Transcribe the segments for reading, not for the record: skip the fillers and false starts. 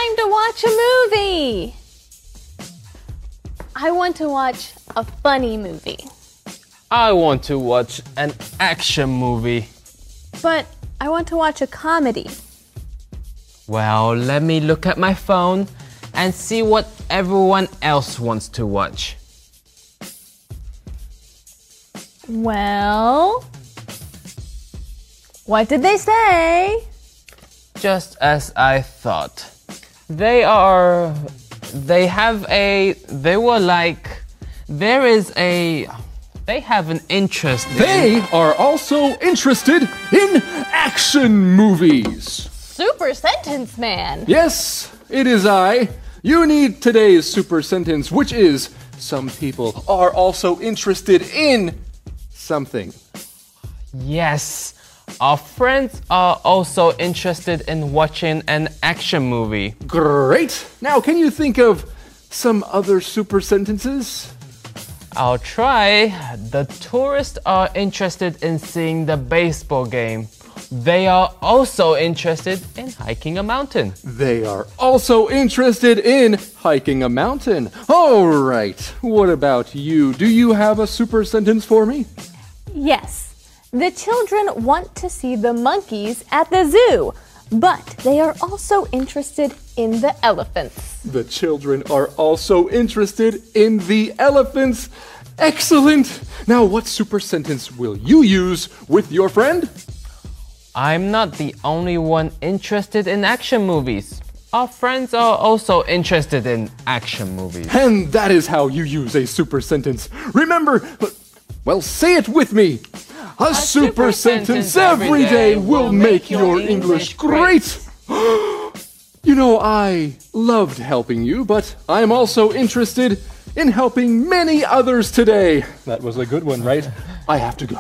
time to watch a movie. I want to watch a funny movie. I want to watch an action movie. But I want to watch a comedy. Well, let me look at my phone and see what everyone else wants to watch. Well, what did they say? Just as I thought. They have an interest in... They are also interested in action movies. Super Sentence Man. Yes, it is I. You need today's super sentence, which is some people are also interested in something. Yes, our friends are also interested in watching an action movie. Great. Now, can you think of some other super sentences? I'll try. The tourists are interested in seeing the baseball game. They are also interested in hiking a mountain. They are also interested in hiking a mountain. All right. What about you? Do you have a super sentence for me? Yes. The children want to see the monkeys at the zoo, but they are also interested in the elephants. The children are also interested in the elephants. Excellent! Now, what super sentence will you use with your friend? I'm not the only one interested in action movies. Our friends are also interested in action movies. And that is how you use a super sentence. Remember, well, say it with me. A super sentence every day will make your English great. You know, I loved helping you, but I'm also interested in helping many others today. That was a good one, right? I have to go.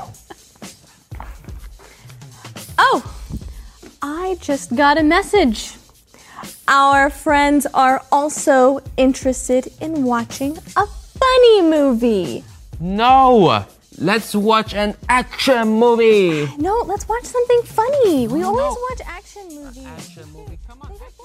Oh, I just got a message. Our friends are also interested in watching a funny movie. No! Let's watch an action movie! No, let's watch something funny. We always watch action movies. Action movie, come on.